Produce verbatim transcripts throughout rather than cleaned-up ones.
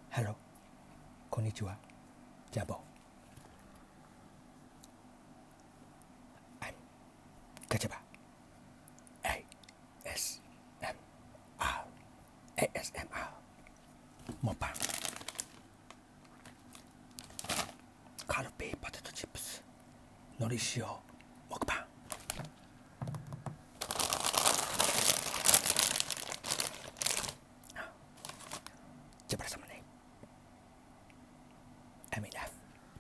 ハロー、こんにちは、ジャボ。I'm ガチャバ エーエスエムアール エーエスエムアール モパンカルビーポテトチップスのり塩モクパンジャバラ様ねアミラフ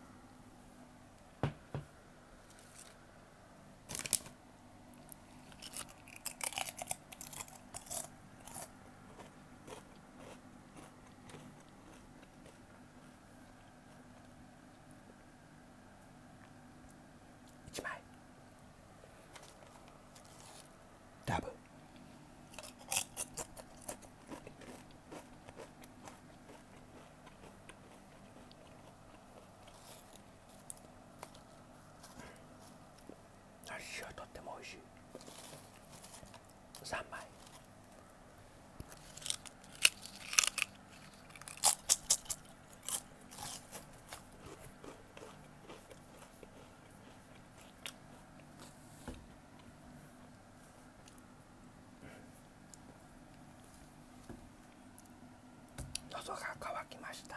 いちまいダブのり塩とってもおいしいさんまい喉が渇きました。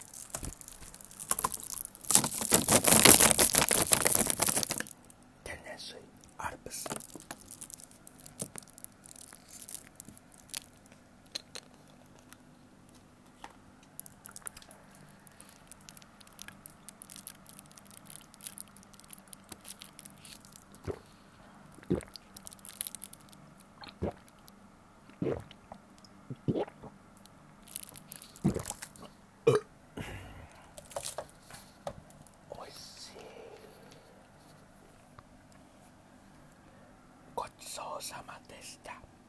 天然水アルプスおいしい。ごちそうさまでした。